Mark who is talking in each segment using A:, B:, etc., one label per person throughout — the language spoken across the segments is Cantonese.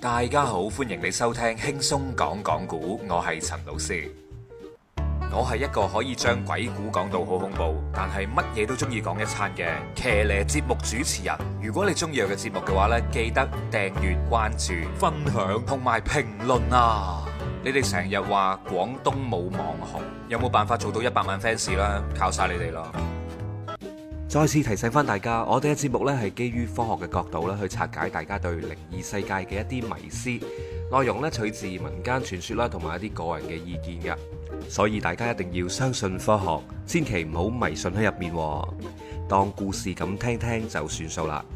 A: 大家好，歡迎你收聽輕鬆講講古，我係陳老師。我係一個可以將鬼故講到好恐怖，但係乜嘢都中意講一餐嘅騎呢節目主持人。如果你中意我嘅節目嘅話呢，記得訂閱、關注、分享同埋評論啊！你哋成日話廣東冇網紅，有冇辦法做到100萬 fans 啦？靠晒你哋咯！再次提醒翻大家，我哋嘅節目呢係基於科學嘅角度啦，去拆解大家對靈異世界嘅一啲迷思，內容呢取自民間傳說啦，同埋一啲個人嘅意見嘅，所以大家一定要相信科學，千祈唔好迷信喺入面，當故事咁聽聽就算數啦。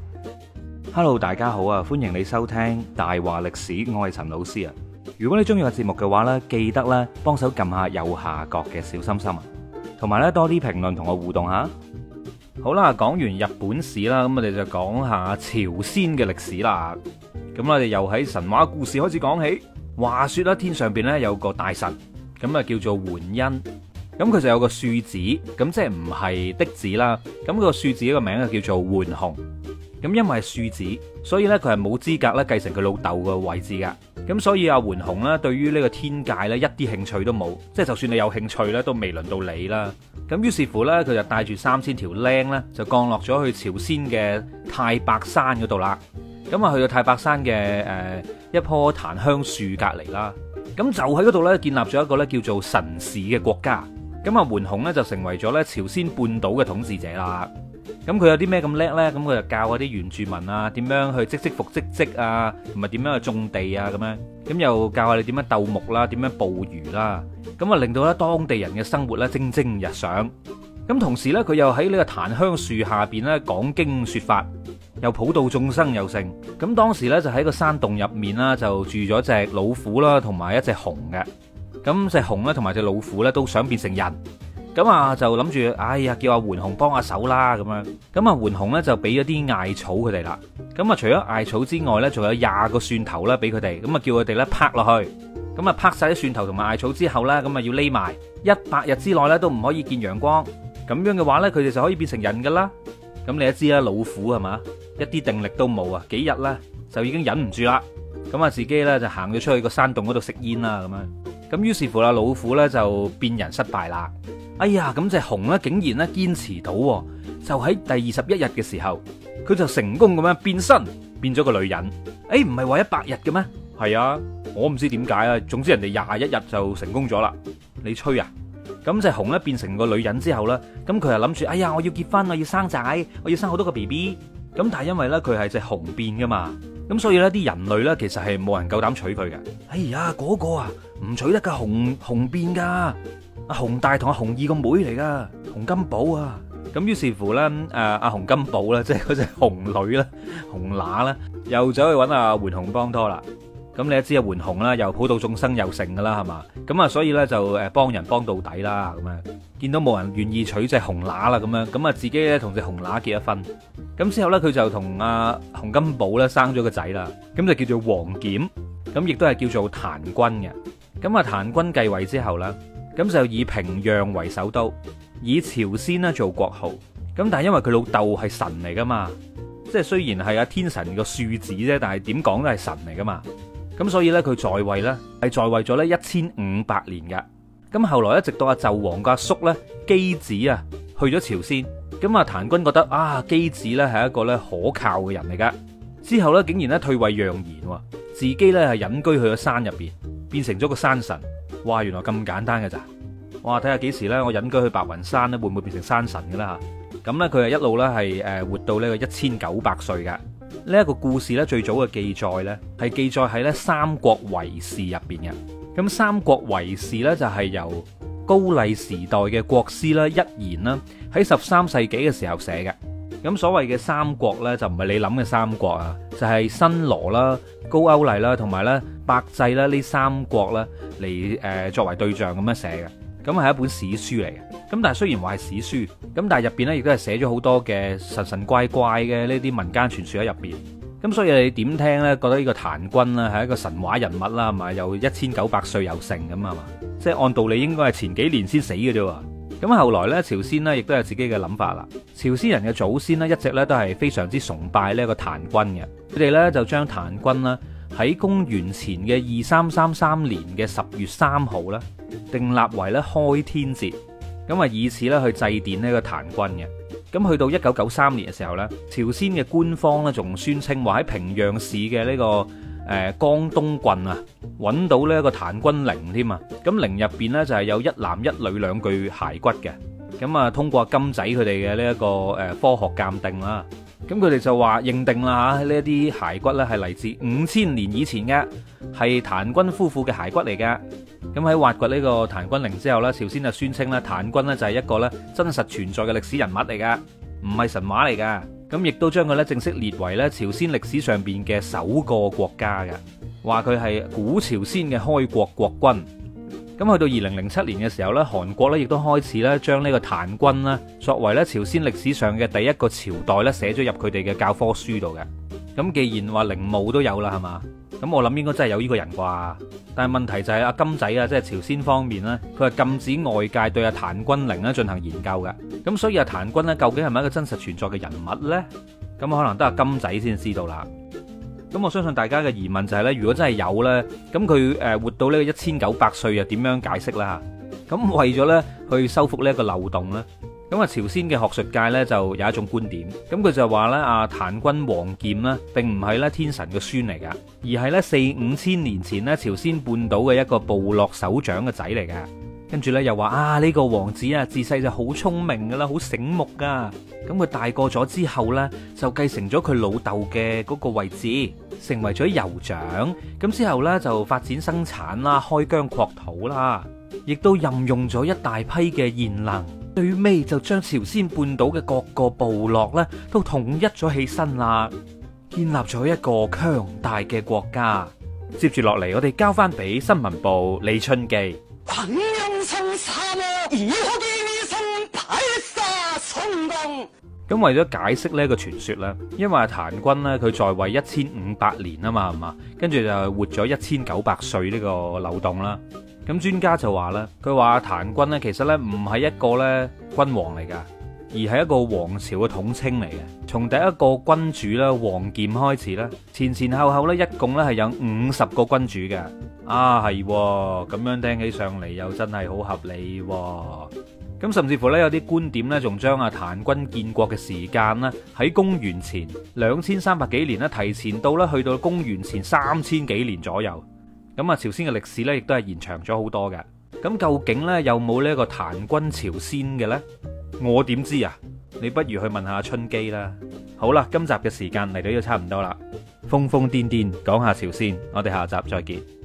B: Hello， 大家好啊，歡迎你收聽大話歷史，我係陳老師啊。如果你中意個節目嘅話呢，記得咧幫手撳下右下角嘅小心心啊，同埋咧多啲評論同我互動下。好啦，講完日本史啦，咁我哋就講下朝鮮嘅歷史啦。咁我哋又喺神話故事開始講起。話說啦，天上邊咧有個大神，咁啊叫做桓因。咁佢就有個庶子，咁即係唔係嫡子啦。咁個庶子個名啊叫做桓雄。咁因為係庶子，所以咧佢係冇資格咧繼承佢老豆嘅位置噶。咁所以阿桓雄咧對於呢個天界咧一啲興趣都冇，即係就算你有興趣咧都未輪到你啦。咁於是乎咧，佢就帶住3000條僆咧，就降落咗去朝鮮嘅太白山嗰度啦。咁啊，去到太白山嘅一棵檀香樹隔離啦。咁就喺嗰度咧，建立咗一個咧叫做神氏嘅國家。咁啊，桓雄咧就成為咗咧朝鮮半島嘅統治者啦。咁佢有啲咩咁叻咧？咁佢就教嗰啲原住民啊，點樣去積福積積啊，同埋點樣去種地啊，咁樣。咁又教下你點樣鬥木啦，點樣捕魚啦。咁啊，令到咧當地人嘅生活咧蒸蒸日上。咁同時咧，佢又喺呢個檀香樹下邊咧講經說法，又普度眾生又成。咁當時咧就喺個山洞入面啦，就住咗隻老虎啦，同埋一隻熊嘅。咁隻熊咧同埋隻老虎咧都想變成人。咁啊就諗住，哎呀，叫阿桓雄幫下手啦咁樣。咁啊桓雄咧就俾咗啲艾草佢哋啦。咁啊除咗艾草之外咧，仲有20個蒜頭啦俾佢哋。咁啊叫佢哋咧拍落去。咁啊拍晒啲蒜頭同埋艾草之後咧，咁啊要匿埋100日之內咧都唔可以見陽光。咁樣嘅話咧，佢哋就可以變成人噶啦。咁你都知啦，老虎係嘛，一啲定力都冇啊，幾日咧就已經忍唔住啦。咁啊自己咧就行咗出去個山洞嗰度食煙啦咁樣。咁於是乎啦，老虎咧就變人失敗啦。哎呀，咁隻熊咧竟然咧堅持到，就喺第21日嘅時候，佢就成功咁樣變身，變咗個女人。唔係話100日嘅咩？係啊，我唔知點解啊。總之人哋21日就成功咗啦。你吹啊？咁隻熊咧變成個女人之後咧，咁佢又諗住，哎呀，我要結婚，我要生仔，我要生好多個 BB。咁但係因為咧佢係隻熊變噶嘛，咁所以咧啲人類咧其實係冇人夠膽娶佢嘅。哎呀，嗰個啊唔娶得噶，熊變噶。阿熊大同阿熊二個妹嚟噶，熊金寶啊。咁於是乎咧，阿熊金寶咧，即係嗰隻熊女咧，熊乸咧，又走去揾阿桓雄幫拖啦。咁你都知阿桓雄啦，又普度眾生又成噶啦，係嘛？咁啊，所以咧就幫人幫到底啦。咁樣見到冇人願意娶隻熊乸啦，咁啊自己咧同隻熊乸結咗婚。咁之後咧，佢就同阿熊金寶咧生咗個仔啦。咁就叫做王翦，咁亦都係叫做檀君嘅。咁啊，檀君繼位之後咧，咁就以平壤為首都，以朝鮮咧做國號。咁但係因為佢老豆係神嚟噶嘛，即係雖然係阿天神個庶子啫，但係點講都係神嚟噶嘛。咁所以咧佢在位咧係在位咗咧1500年嘅。咁後來一直到阿紂王個阿叔咧箕子啊去咗朝鮮，咁啊檀君覺得啊箕子咧係一個咧可靠嘅人嚟噶，之後咧竟然咧退位讓賢，自己咧係隱居去咗山入邊，變成咗個山神。哇，原來咁簡單嘅咋？哇，睇下幾時咧我隱居去白雲山咧會唔會變成山神嘅啦吓？咁咧佢係一路咧係活到呢個1900歲嘅。呢一個故事咧最早嘅記載咧係記載喺咧《三國遺事》入邊嘅。咁《三國遺事》咧就係由高麗時代嘅國師啦一言啦喺13世紀嘅時候寫嘅。咁所謂嘅三國咧就唔係你諗嘅三國啊，就係新羅啦、高句麗啦同埋咧百濟啦呢三國啦嚟作為對象咁樣寫嘅。咁係一本史書嚟嘅。咁但係雖然話係史書，咁但係入邊咧亦都係寫咗好多嘅神神怪怪嘅呢啲民間傳說喺入邊。咁所以你點聽咧？覺得呢個檀君啦係一個神話人物啦，係咪？又1900歲又成咁啊嘛？即係按道理應該係前幾年先死嘅啫。咁後來咧，朝鮮呢亦都有自己嘅諗法啦。朝鮮人嘅祖先呢，一直咧都係非常之崇拜呢一個檀君嘅。佢哋咧就將檀君啦喺公元前嘅2333年嘅10月3號咧，訂立為咧開天節，咁啊以此咧去祭奠呢個檀君嘅。咁去到1993年嘅時候咧，朝鮮嘅官方咧仲宣稱話喺平壤市嘅呢個江東郡啊，揾到呢一個檀君陵添啊。咁陵入邊咧就係有一男一女兩具骸骨嘅。咁啊通過金仔佢哋嘅呢一個科學鑑定啦，咁佢哋就話認定啦嚇，呢一啲骸骨咧係嚟自5000年以前嘅，係檀君夫婦嘅骸骨嚟嘅。咁喺挖掘呢個檀君陵之後呢，朝鮮就宣稱咧檀君呢就係一個咧真實存在嘅歷史人物嚟噶，唔係神話嚟噶。咁亦都將佢咧正式列為咧朝鮮歷史上邊嘅首個國家嘅，話佢係古朝鮮嘅開國國君。咁去到2007年嘅時候咧，韓國咧亦都開始咧將呢個檀君咧作為咧朝鮮歷史上嘅第一個朝代咧寫咗入佢哋嘅教科書度嘅。咁既然話陵墓都有啦，係嘛？咁我諗應該真係有呢個人啩。但係問題就係阿金仔啊，即係朝鮮方面咧，佢係禁止外界對阿檀君陵咧進行研究嘅。咁所以阿檀君咧究竟係咪一個真實存在嘅人物呢？咁可能得阿金仔先知道啦。咁我相信大家嘅疑問就係咧，如果真係有呢，咁佢活到呢個1900歲又點樣解釋啦？咁為咗呢去修復呢一個漏洞呢，咁啊朝鮮嘅學術界呢就有一種觀點，咁佢就話呢，阿檀君王翦呢並唔係咧天神嘅孫嚟噶，而係呢4-5千年前呢朝鮮半島嘅一個部落首長嘅仔嚟噶。跟住呢，又話啊呢個王子啊自細就好聰明噶啦，好醒目噶。咁佢大個咗之後呢，就繼承咗佢老豆嘅嗰個位置，成為咗酋長。咁之後呢，就發展生產啦，開疆擴土啦，亦都任用咗一大批嘅賢能。最尾就將朝鮮半島嘅各個部落呢都統一咗起身啦，建立咗一個強大嘅國家。接住落嚟，我哋交翻俾新聞部李春基。咁為咗解釋呢個傳說呢，因為檀君呢，佢在位1500年啊嘛，係嘛，跟住就活咗1900歲呢個漏洞啦。咁專家就話啦，佢話檀君呢，其實呢唔係一個呢君王嚟噶，而係一個王朝嘅統稱嚟嘅。從第一個君主啦王翦開始啦，前前後後呢，一共呢係有50個君主嘅。啊係，咁樣聽起上嚟又真係好合理。咁甚至乎呢，有啲觀點呢，仲將阿檀君建國嘅時間呢，喺公元前2300幾年呢，提前到呢去到公元前3000幾年左右。咁啊，朝鮮嘅歷史呢，亦都係延長咗好多嘅。咁究竟呢，有冇呢一個檀君朝鮮嘅呢？我點知啊？你不如去問下春基啦。好啦，今集嘅時間嚟到呢度差唔多啦。瘋瘋癲癲講下朝鮮，我哋下集再見。